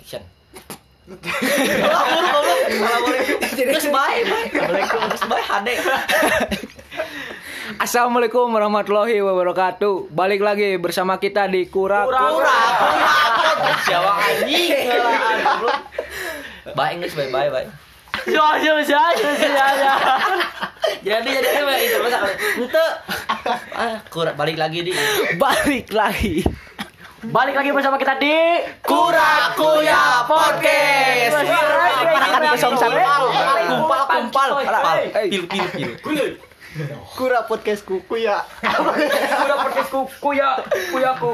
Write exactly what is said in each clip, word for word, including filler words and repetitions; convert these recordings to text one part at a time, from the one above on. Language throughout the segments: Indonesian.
Action. Terus bye bye. Terus bye H D. Assalamualaikum warahmatullahi wabarakatuh. Balik lagi bersama kita di Kura Kura. Siapa anjing? Bye English bye bye bye. Yo yo yo yo yo. Jadi jadi apa itu bahasa ente. Ah, Kura balik lagi di. Balik lagi. Balik lagi bersama kita di Kura Kuya Podcast. Parakan kosong satu. Kumpal kumpal. Pil pil pil. Kura podcast kuku ya. Kura podcast kuku ya, kuyaku.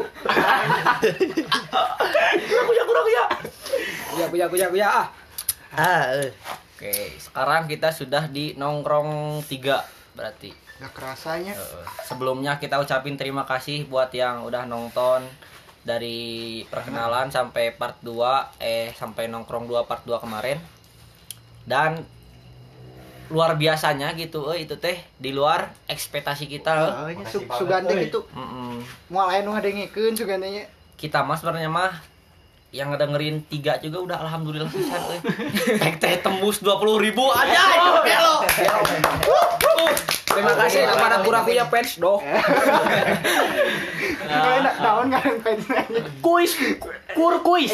Kuya kura kuya. Kuya kuya kuya kuya ah. Ah, oke, sekarang kita sudah di nongkrong tiga berarti. Gak kerasanya. Uh, sebelumnya kita ucapin terima kasih buat yang udah nonton dari perkenalan sampai part dua eh sampai nongkrong dua part dua kemarin. Dan luar biasanya gitu eh itu teh di luar ekspektasi kita. Oh, nya su sugandeng itu. Mm-mm. Moal aya nu ngadengikeun sugandengnya. Kita mah sebenarnya mah yang ngedengerin tiga juga udah alhamdulillah pisan euy. Tek teh tembus dua puluh ribu aja lo. Terima kasih kepada Kura Kuya fans doh. Enak naon ngareng fansnya. kuis, kur kuis.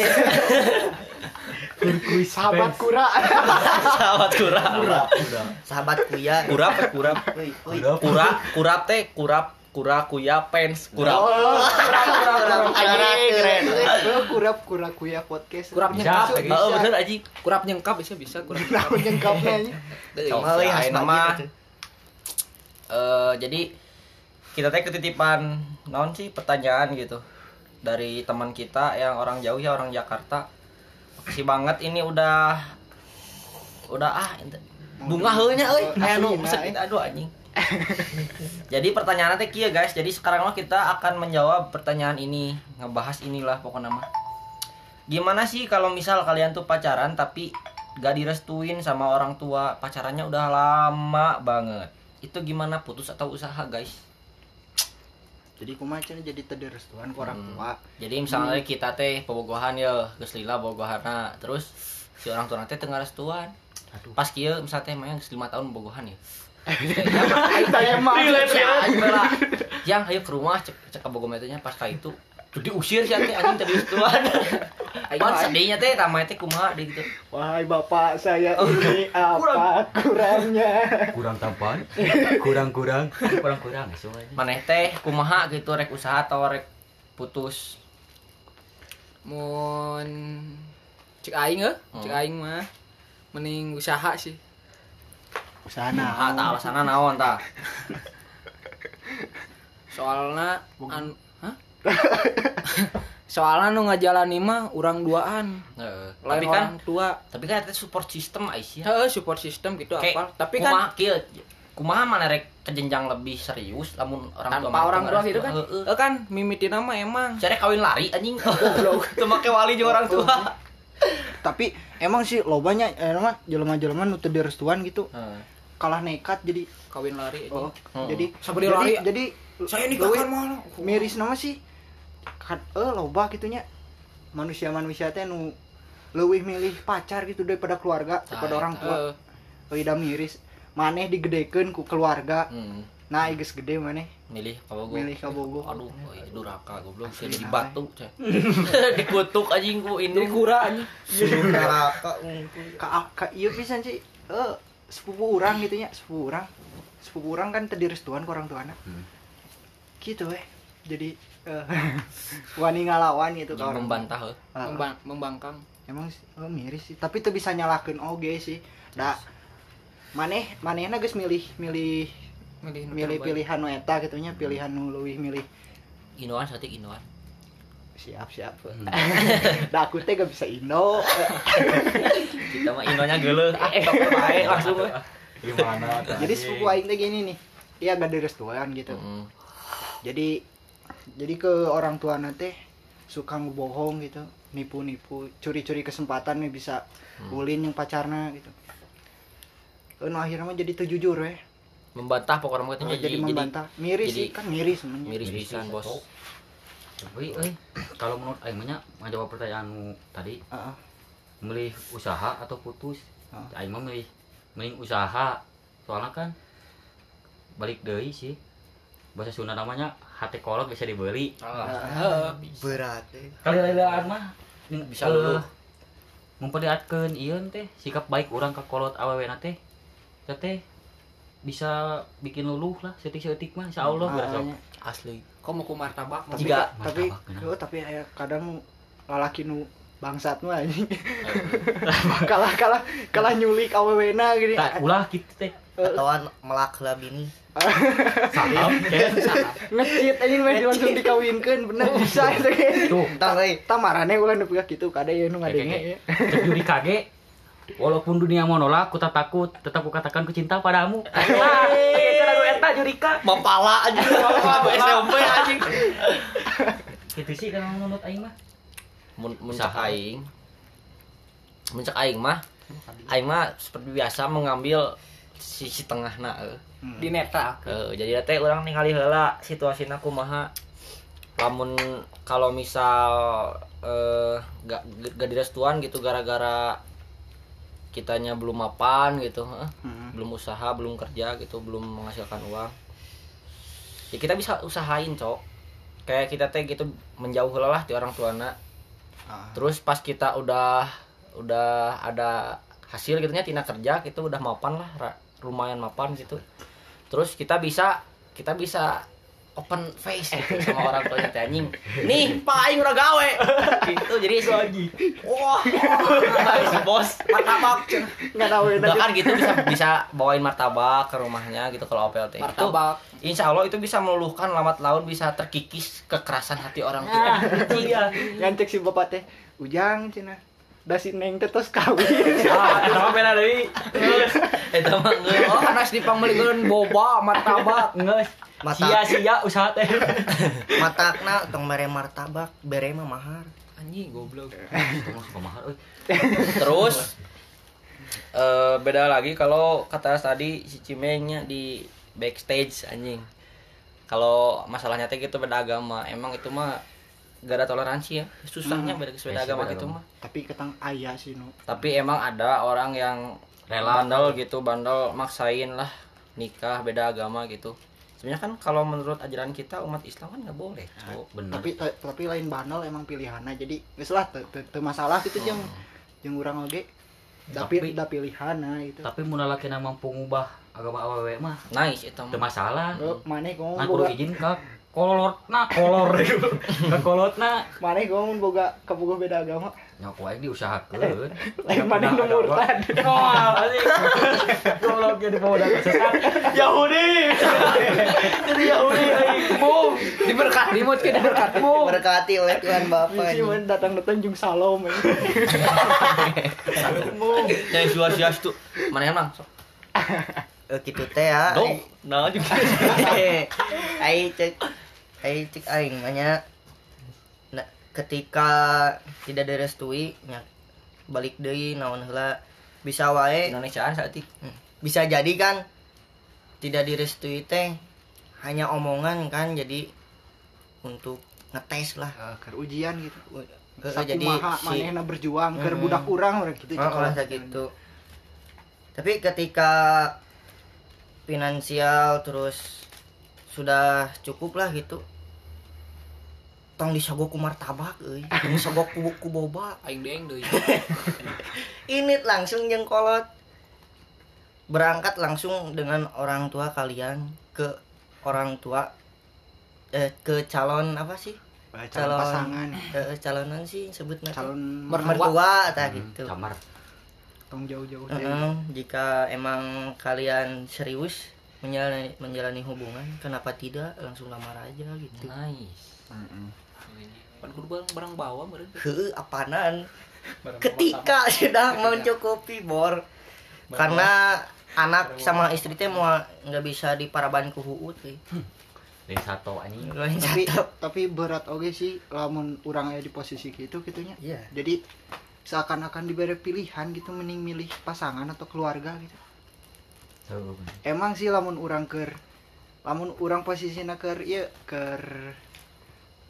Kuis sahabat kura. Sahabat kurap. Sahabat kuya. Kurap kurap. Kurap kurap teh kurap kura kuya fans kurap. Anjing keren. Kurap kura kuya podcast. Kurap nyengkap. Heeh bener anjing. Kurap nyengkap bisa bisa kurap. Naon nyengkapnya nya. Euy nama eh jadi kita teh ketitipan naon sih pertanyaan gitu dari teman kita yang orang jauh ya orang Jakarta. Makasih banget ini udah udah ah bunga heunya euy aya nu pesen kita aduh anjing. Jadi pertanyaannya teh kieu guys. Jadi sekarang mah kita akan menjawab pertanyaan ini, ngebahas inilah pokoknya mah. Gimana sih kalau misal kalian tuh pacaran tapi gak direstuin sama orang tua, pacarannya udah lama banget. Itu gimana, putus atau usaha guys? Jadi kumaha cenah jadi teu direstuan ku orang tua. Jadi misalnya hmm. kita teh bobogohan ya, geus lila bobogohanna, terus si orang tua teh teu ngarestuan. Pas kieu misalnya teh mah geus lima tahun bobogohan ya. Saya mah Yang ayo ke rumah cek cek bogohan teh nya pas ka itu diusir sih teh anjing teu direstuan. Pan sedihnya teh tamah teh kumaha deui gitu. Wahai bapak saya ini apa kurangnya? Kurang tampan, kurang-kurang, kurang-kurang semuanya. Maneh teh kumaha gitu rek usaha atau rek putus? Mun cek aing heuh, cek aing mah mending usaha sih. Usaha Ah, naon? tah alasana naon tah? Soalna an hah? Soalnya nu ngajalani mah urang duaan. Heeh. Lain Tapi kan orang tua. tapi kan itu support system Aisyah. Heeh, support system gitu apa. Tapi kumaha kan kieu? Kumaha mana rek ke jenjang lebih serius lamun orang tua tanpa orang tua gitu kan. Heeh. Eh kan mimitina mah emang. Cara kawin lari anjing. Goblok. Teu make wali jeung orang tua. Tapi emang sih lobanya eh mah jelema-jelema nu teu direstuan gitu. Heeh. Kalah nekat jadi Kawin lari oh, Hmm. jadi Sabari jadi, lari. jadi Saya leuwih nikahkan mah. miris nama sih kan eh loba gitunya manusia-manusia teh nu leuwih milih pacar gitu daripada keluarga daripada Nah, orang tua. Heeh. Euy da miris maneh digedekeun ku keluarga. Hmm. Nah geus gede maneh Milih kabogo. milih kabogo. Aduh, euy duraka goblok sih Asli, jadi nah, batu, cah. Dikutuk anjing ku Jadi indung. kura anjing. Duraka. Ka ka ieu pisan sih eh sepupu urang gitu nya, sepupu urang. Sepupu urang kan teu direstuan ku orang tuana. Hmm. Gitu weh. Jadi eh wani ngalawan gitu ka orang. Membantah heuh. Heeh. Membang, membangkang. Emang oh, miris sih, tapi tuh bisa nyalakeun oge sih. Da maneh manehna geus milih milih Milih nu milih terbaik. pilihan nu eta gitu nya, pilihan nu leuwih milih. Inoan satik inoan. Siap siap. Da aku teh gak bisa indo. Kita mah inonya geuleuh. Eh, sok bae langsung we. Gimana? Jadi sepupu aing teh gini nih. Dia gak direstuan gitu. Heeh. Jadi jadi ke orang tua teh suka ngebohong gitu, nipu-nipu, curi-curi kesempatan nih bisa ulin yang pacarna gitu. Nu akhirnya mah jadi teu jujur weh. Membantah pokoknya mah Oh, jadi jadi membantah. Miris jadi- sih kan miris semuanya. miris pisan bos. Tapi eh kalau menurut aing mah nya ngajawab pertanyaanmu tadi, Heeh. milih usaha atau putus? Ah. Aing mah milih mending usaha. Soalnya kan balik deui sih. Bahasa Sunda namanya hate kolot bisa dibeli. Heeh. Berat eh. Kali-kalian mah Bisa luluh. memperlihatkan ieu teh sikap baik orang ka kolot awewena teh. Teh teh bisa bikin luluh lah setik-setik mah insyaallah Ah, berasa. nya. Asli. Kok mau ku martabak? Tapi Jika- tapi martabak, kenapa? oh, tapi aya kadang lalaki nu bangsat mah anjing. kalah kalah kalah nyulik awewena gini. Tah ulah kitu teh. Atauan melak lah bini. Saham teh. Ngecit anjing mah langsung dikawinkeun bener bisa itu ge. Tuh, Tang euy. Tah marane ulah nu piga kitu kada ye nu ngadenge. cek Yuri kage. Walaupun dunia mau nolak, ku tak takut, tetap ku katakan ku cinta padamu. Lah, itu lagu eta Jurika. Mapala aja. S M P anjing. Gitu sih kalau menurut aing mah. Mun mun cek Usaha. aing. Mun cek aing mah aing mah seperti biasa mengambil sisi tengahna euy. Di neta. Eh, jadi teh orang ningali heula situasina kumaha. Lamun kalau misal eh gak gak direstuan gitu gara-gara kitanya belum mapan gitu, heh. Hmm. Belum usaha, belum kerja gitu, belum menghasilkan uang. Ya kita bisa usahain, Cok. Kayak kita teh gitu menjauh heula lah ti orang tuana. Ah. Terus pas kita udah udah ada hasil gitu nya tina kerja gitu udah mapan lah, ra- lumayan mapan gitu. Terus kita bisa kita bisa open face gitu sama orang tuanya teh anjing. Nih, Pak aing udah gawe. Gitu jadi lagi. Wah, si bos martabak. Enggak tahu ya Bahkan gitu bisa bisa bawain martabak ke rumahnya gitu kalau O P L T. Martabak. Itu, insya Allah itu bisa meluluhkan lambat laun bisa terkikis kekerasan hati orang tua. Iya, ngancek si bapak teh. Ujang cenah. Da si Neng teh tos kawin. Ah, sama bela deui. Eta mah ngeus. Oh, anas dipangmelikeun boba martabak. Ngeus. Mata Sia-sia usaha teh. matakna tong mere martabak, bere mah mahar. Anjing goblok. Tong suka mahal euy. Terus eh beda lagi kalau kata tadi si Cimengnya di backstage anjing. Kalau masalahnya teh gitu beda agama, emang itu mah gak ada toleransi ya. Susahnya beda beda Yes, agama beda gitu agama. mah. Tapi ketang aya sih nu. Tapi emang ada orang yang Rela. bandel gitu, bandel maksain lah nikah beda agama gitu. Sebenarnya kan kalau menurut ajaran kita umat Islam kan nggak boleh. Cok. Bener. Tapi ta- tapi lain bandel emang pilihanna. Jadi geus lah teu teu- teu masalah gitu jeung jeung urang oge. Tapi Tapi- da pilihanna gitu. Tapi mun lalakina mampu ngubah agama awewe mah Nice itu teu mah. masalah. Oh, maneh ngomong Nah, kudu boga izin ka kolotna, kolor ka kolotna. maneh ngomong boga kabogoh beda agama. Nya ku aing diusahakeun. Lain maneh nu murtad. Wah, anjing. Goblok jadi bawa sesat. Yahudi. Jadi Yahudi anjing. Boom. Diberkat, dimut ke diberkat. Berkati oleh Tuhan Bapa. Si man datang-datang jeung salom. eh. Yang sia-sia itu mana emang? Sok. Eh kitu teh ya. Dong, nah juga. Ai cek ai cek aing mah nya nah, ketika tidak direstui nya balik deui naon heula bisa wae Indonesiaan saat itu. Hmm. Bisa jadi kan tidak direstui teh hanya omongan kan jadi untuk ngetes lah. Eh, keur ujian gitu. Eh, Sakumaha jadi si manehna berjuang keur Hmm. budak urang urang gitu. oh, rasa gitu. Tapi ketika finansial terus sudah cukup lah gitu. Tong disogok ku martabak euy. Disogok ku, ku boba. Aing deeng deui. Ini langsung jeung kolot. Berangkat langsung dengan orang tua kalian ke orang tua eh ke calon apa sih? Calon pasangan, Eh, calonan sih sebutnya. teh. calon mertua tah Hmm, gitu. Camar. tong jauh-jauh deh. Heeh, jika emang kalian serius menjalani menjalani hubungan, kenapa tidak langsung lamar aja gitu. Nice. Pan kudu barang barang bawa meureun. Heuh, apanan? Ketika sudah mencukupi bor. Karena anak sama istri teh mau nggak bisa diparaban ku huut euy. Lain sato anjing. Lain Tapi cakep. tapi berat oge sih lamun urang aya di posisi gitu gitunya. Iya. Jadi seakan-akan diberi pilihan gitu mending milih pasangan atau keluarga gitu. Tuh. Emang sih lamun urang keur lamun urang posisina keur ieu keur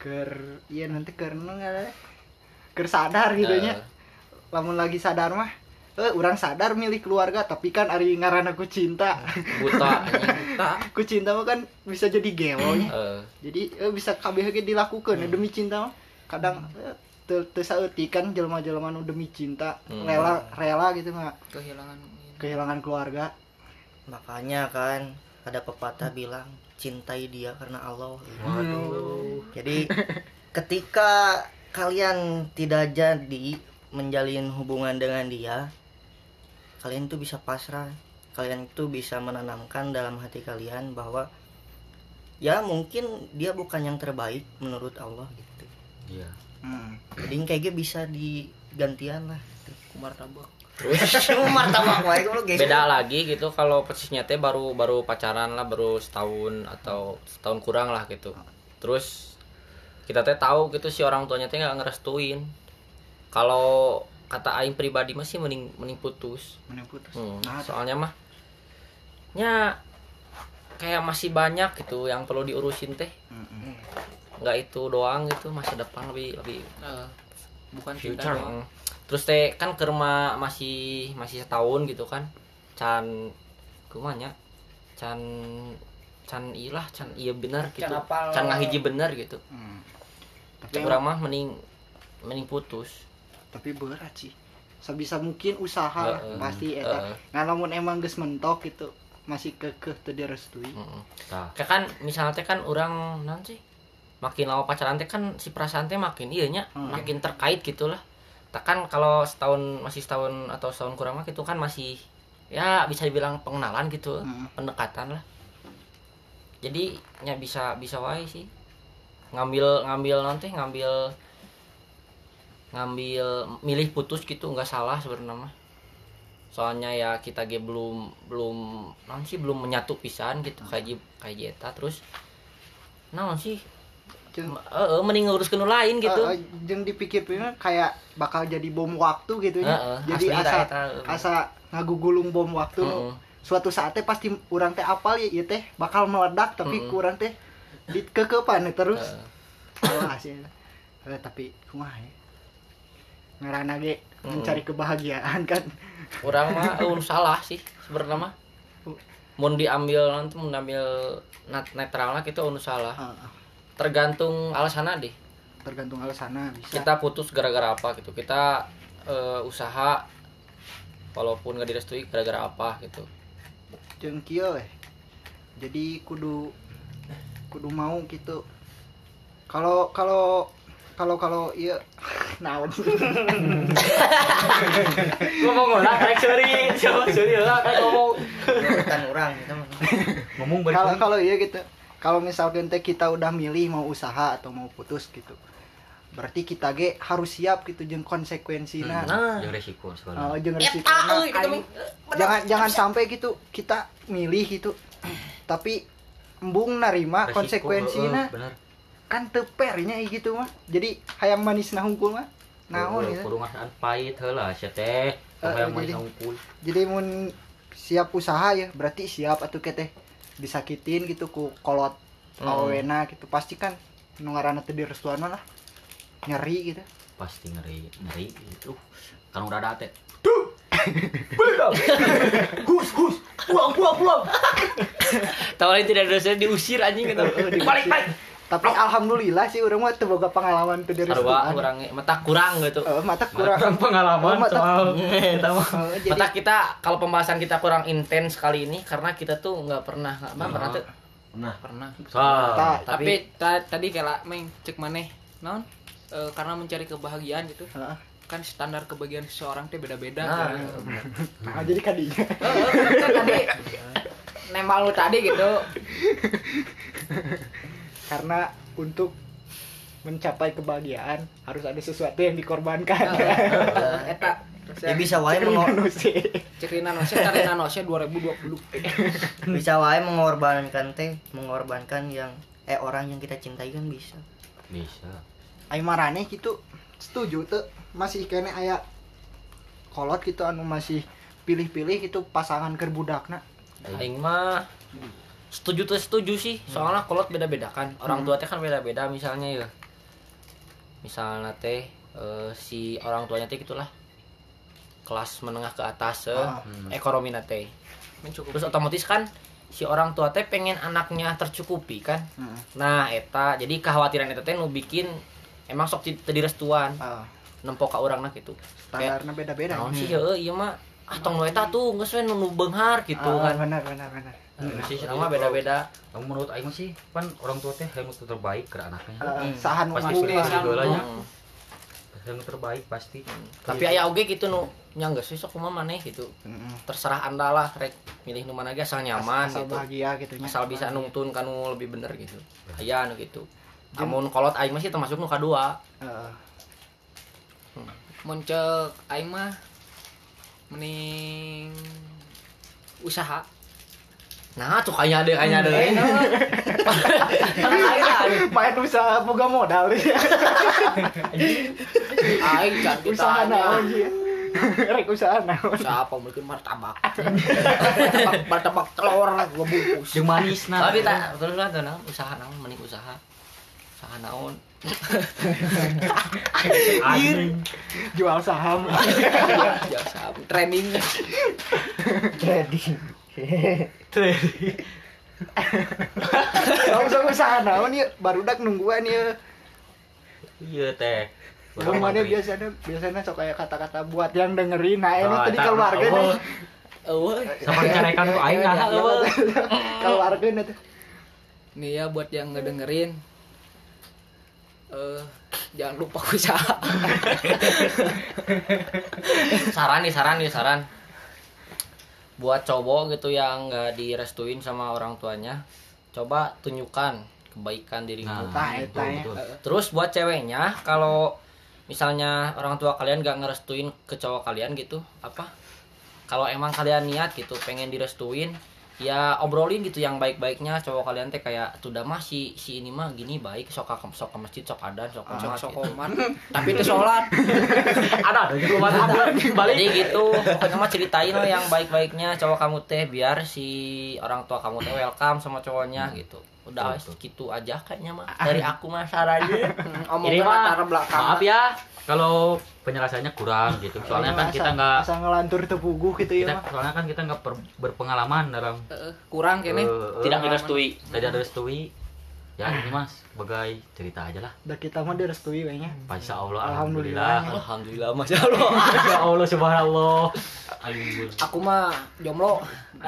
ker iya nanti karena nggak ker sadar gitu nya. Lamun lagi sadar mah eh orang sadar milih keluarga tapi kan ari ngaran aku cinta. Buta anjing. Tak. Ku cinta mah kan bisa jadi gelo nya. Eh, Jadi eh, bisa kabeh ge dilakukeun ya, demi cinta mah. Kadang eh, teu teu saeutik kan jelema-jelema nu demi cinta Hmm. rela rela gitu mah Kehilangan kehilangan keluarga. Makanya kan ada pepatah bilang cintai dia karena Allah. waduh. Jadi ketika kalian tidak jadi menjalin hubungan dengan dia, kalian tuh bisa pasrah. Kalian tuh bisa menanamkan dalam hati kalian bahwa ya mungkin dia bukan yang terbaik menurut Allah gitu. Iya. Hmm. Jadi kayak gitu bisa digantian lah. kumar tabak. Martabak wae lu guys. Beda lagi gitu kalau posisinya teh baru baru pacaran lah, baru setahun atau setahun kurang lah gitu. Terus kita teh tahu gitu si orang tuanya teh nggak ngerestuin. Kalau kata aing pribadi masih mending mending putus. Mending putus. Hmm, Nah, soalnya mah nya kayak masih banyak gitu yang perlu diurusin teh. Mm-mm. Nggak itu doang gitu, masa depan lebih lebih Eh, bukan cinta future. doang. Mm. Terus teh kan kerma masih masih setahun gitu kan. Can kumanya can can ilah can iya bener gitu. Can apal. Can ngahiji bener gitu. Hmm. Tapi Tapi urang mah mending mending putus. tapi berat sih. Sebisa mungkin usaha lah, Heeh. pasti eta. Heeh. Nah, lamun emang geus mentok gitu masih kekeh teu direstui. Heeh. Tah. Kayak kan misalnya teh kan orang nanti makin lama pacaran teh kan si perasaan teh makin iya nya, Hmm. makin terkait gitulah. Tak kan kalau setahun masih setahun atau setahun kurang mah itu kan masih ya bisa dibilang pengenalan gitu, Hmm. pendekatan lah. Jadi nya bisa bisa wae sih. Ngambil ngambil nanti ngambil ngambil milih putus gitu nggak salah sebenarnya mah. Soalnya ya kita ge belum belum naon sih belum menyatu pisan gitu kayak ji- kayak jeta terus naon sih Jeung heeh mending ngurus nu lain gitu. eh, eh, jeung dipikir-pikir kayak bakal jadi bom waktu gitu ya. Heeh, Jadi asli asa tah eta. asa ngagugulung bom waktu. Heeh. Suatu saatnya pasti urang teh apal ya ieu teh bakal meledak tapi Heeh. kurang teh dikekepan terus. Heeh. Alah sih. Eh, tapi kumaha ya. Ngaranna ge Mm. mencari kebahagiaan kan. Urang mah eueuh salah sih sebenarnya mah. Mun diambil nanti mun diambil nat- netralna kitu eueuh salah. Heeh. Tergantung alasanna deh. Tergantung alasanna bisa. Kita putus gara-gara apa gitu. Kita eh, usaha walaupun gak direstui gara-gara apa gitu. Jeung kieu we. Jadi kudu kudu mau gitu. Kalau kalau kalau kalau iya naon. Ngomong lah kayak seri, coba seri lah kayak ngomong. Bukan orang gitu mah. Ngomong Kalau balik. kalau iya gitu. Kalau misalkan teh kita udah milih mau usaha atau mau putus gitu. Berarti kita ge harus siap gitu jeung konsekuensina. Nah, Yang resiko Oh, sebenarnya. jeung Eta resikona. euy gitu mah. Jangan jangan sampai gitu kita milih gitu. Tapi embung narima Resiko, konsekuensina. heeh, bener. Kan teu fair nya gitu mah. Jadi hayang manisna hungkul mah. Naon Heeh, gitu. kudu ngasaan pahit heula sia teh. Eh, Supaya mah jadi- sangkul. Jadi mun siap usaha ya berarti siap atuh keteh disakitin gitu ku kolot Hmm. awena gitu pasti kan nu ngaranna teu direstuan lah nyeri gitu. Pasti ngeri, ngeri itu. Kan udah ada teh. Hus hus, pulang pulang pulang. Tawalin tidak dosa diusir anjing gitu. Heeh, Balik balik. Tapi alhamdulillah sih urang mah teu boga pengalaman teu Sarua direstuan. kurang mata kurang gitu. Heeh, mata kurang Kurang pengalaman Oh, mata- soal kita mah. Heeh, jadi Mata kita kalau pembahasan kita kurang intens kali ini karena kita tuh nggak pernah nggak pernah tuh Nah, Pernah. sah. ta- Tapi ta- tadi kayak meng cek maneh naon? Eh, karena mencari kebahagiaan gitu. heeh. Kan standar kebahagiaan seseorang teh beda-beda. Nah, kan. Ah, jadi kadinya. Heeh, kan tadi nembak lu tadi gitu. Karena untuk mencapai kebahagiaan harus ada sesuatu yang dikorbankan. Eh, eta Ya bisa wae mengor Manusia. cekrina nose tarina nose dua ribu dua puluh. bisa wae mengorbankan teh, mengorbankan yang eh orang yang kita cintai kan bisa. Bisa. Ai marane gitu setuju tuh masih kene aya kolot gitu anu masih pilih-pilih gitu pasangan keur budakna. aing mah setuju tuh setuju sih. Soalnya kolot beda-beda kan. Orang tua teh kan beda-beda misalnya ya. misalnya teh eh, si orang tuanya teh gitulah kelas menengah ke atas eh, Ah. ekonomi teh Mencukupi. terus otomatis kan si orang tua teh pengen anaknya tercukupi kan Heeh. nah eta jadi kekhawatiran eta teh nu bikin emang sok teu direstuan Ah, nempok ka urangna gitu kayak standarnya beda-beda. naon sih heueuh ieu mah ah tong nu eta tuh geus we nu nu beunghar gitu Ah, kan benar benar benar. nah, sih sama beda-beda Kamu menurut aing mah sih kan orang tua teh yang terbaik ke anaknya. Ah, sahan Pasti mampu pilih lah. si geulanya. Hmm. Yang terbaik pasti. Tapi aya oge gitu nu nya geus we sok kumaha maneh gitu Heeh. terserah anda lah rek milih nu mana ge asal nyaman Asal gitu bahagia gitu nya. asal bisa nungtun kanu lebih bener gitu aya nu gitu amun kolot aing mah sih termasuk nu kadua Heeh. Mun ceuk aing mah mending usaha. nah tuh kayaknya ada kayaknya ada Main usaha boga modal ya. Aing can Usaha ditanya. naon sih? Rek usaha naon? Usaha apa mungkin martabak. martabak, martabak telur gua bungkus. Jeung manisna. tapi tak terus lah tuh naon usaha naon mending usaha usaha naon Anjing. Jual saham. Jasa trading. Trading. Langsung usaha naon ya barudak nungguan ya. Iya teh. Rumahnya biasanya biasanya sok kayak kata-kata buat yang dengerin. Nah, ini Oh, tadi tak- keluarga oh. nih. Eueuh. Sama carekan ku aing nah eueuh. Keluarga nih tuh. Nih ya buat yang ngedengerin. Eh jangan lupa usaha. saran nih saran nih saran buat cowok gitu yang nggak direstuin sama orang tuanya coba tunjukkan kebaikan dirimu Nah, betul, eta ya. betul. terus buat ceweknya kalau misalnya orang tua kalian nggak ngerestuin ke cowok kalian gitu apa kalau emang kalian niat gitu pengen direstuin ya obrolin gitu yang baik-baiknya cowok kalian teh kayak tuh dah mah si si ini mah gini baik sok ka sok ke masjid sok adan sok Sok sholat sok gitu. koman. Tapi itu sholat. Ada ada di rumah ada balik. Jadi gitu, pokoknya mah ceritain lah yang baik-baiknya cowok kamu teh biar si orang tua kamu teh welcome sama cowoknya gitu. Udah Betul. gitu aja kayaknya mah. Dari aku mah sarannya. Omongin Ini mah latar belakang. maaf ya kalau penjelasannya kurang gitu. Soalnya kan kita nggak asal ngelantur tepuguh gitu ya kita mah. soalnya kan kita nggak per- berpengalaman dalam Heeh, kurang kene. eh, Tidak eh, direstui. tidak direstui. Ya ini mas sebagai cerita aja lah. Udah kita mah direstui kayaknya. Insya Allah Alhamdulillah. alhamdulillah. Alhamdulillah masya Allah. Ya Allah subhanallah. Alhamdulillah. Aku mah jomblo.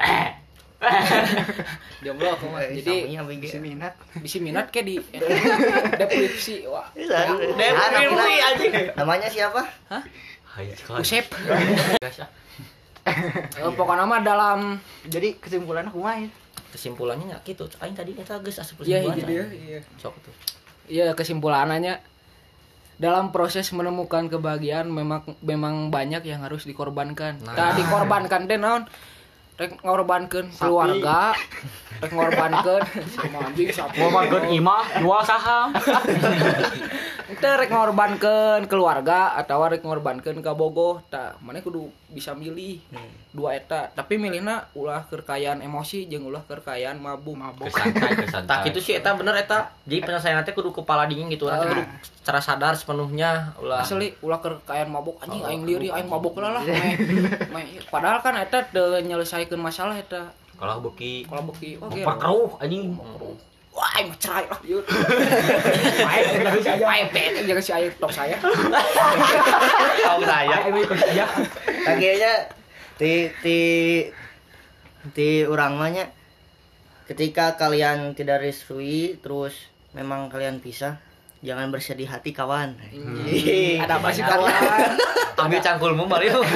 Jomblo aku mah. Jadi Saminya bege. Si minat. bisi minat ke di depresi wah. Depresi anjing. Namanya siapa? Hai sekali. Usep. Guys ah. Eh, pokoknya mah dalam Jadi kesimpulannya kumaha ya? Kesimpulannya nya gitu. Aing tadi eta geus asup iya kesimpulan. gitu ya. Iya. Sok tuh. Iya kesimpulannya dalam proses menemukan kebahagiaan memang memang banyak yang harus dikorbankan. Nah. Nah, dikorbankan teh naon? Rek ngorbankeun keluarga, rek ngorbankeun sama anjing sapi. Mau makan imah jual saham. Teh rek ngorbankeun keluarga atau rek ngorbankeun ka bogoh. Tah, maneh kudu bisa milih dua eta. Tapi milihna ulah kekayaan emosi jeung ulah kekayaan mabuk. Mabuk. Kesantai kesantai. Tah kitu sih eta bener eta. Jadi penyelesaian teh kudu kepala dingin gitu. Nanti kudu secara sadar sepenuhnya ulah Asli ulah kekayaan mabuk anjing aing liuri aing mabuk lah lah. Meh- meh- Padahal kan eta teu nyelesaikeun masalah eta. Kalau beki Kalau beki oke. memperkeruh anjing. Wah, aing mah cerai lah yeuh. Main jangan si aya. Aing teh jangan si aya tok saya. tahu saya. Ayo ikut aja. Kayaknya ti ti ti urang mah nya ketika kalian tidak restui terus memang kalian pisah jangan bersedih hati kawan. Ih, Ada apa sih karena Ambil cangkulmu mari lu.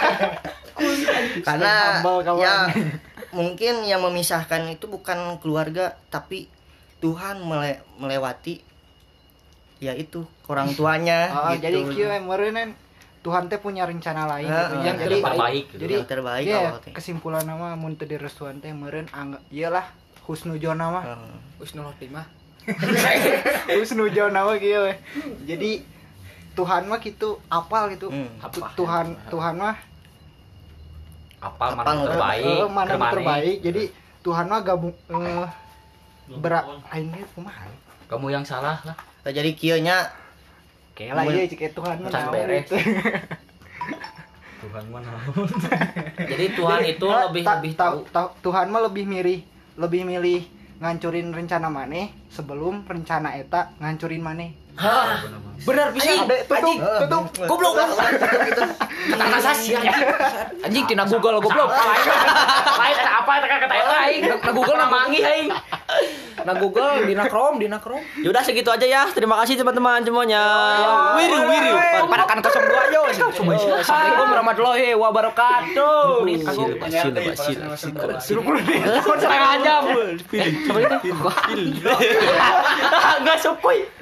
karena Humble, kawan. ya mungkin yang memisahkan itu bukan keluarga tapi Tuhan mele- melewati ya itu orang tuanya Oh, gitu. jadi kieu meureun Tuhan teh punya rencana lain Heeh, gitu. yang Jadi terbaik gitu. jadi yang terbaik iya, awal teh. kesimpulan nama mun teu direstuan teh meureun angga iyalah husnuzon mah. Heeh. Husnul khotimah. Husnuzon mah kieu we. Jadi Tuhan mah gitu apal gitu. Hmm, Tu- Tuhan Tuhan mah Apal Apal mana nu terbaik. eh, mana nu terbaik. terbaik. Jadi Tuhan mah gabung eh berak aing ge kumaha? Kamu yang salah lah. Nah, jadi kieu nya Oke lah iya cek Tuhan mah Can naon beres. gitu. Tuhan mana? Jadi Tuhan itu Ta- lebih ta- lebih ta- tahu. ta- Tuhan mah lebih milih lebih milih ngancurin rencana maneh sebelum rencana eta ngancurin maneh. Hah, benar bisa. Ada tutup tutup Goblok. Kata sasi anjing tina Google goblok. Lain apa kata eta aing. Na Google na mangi aing. Na Google dina Chrome, dina Chrome. Yaudah segitu aja ya. Terima kasih teman-teman semuanya. Wiru wiru. Padakan kosong dua yo. Assalamualaikum warahmatullahi wabarakatuh. Sila sila sila. Setengah jam. Coba itu. Enggak sukuy.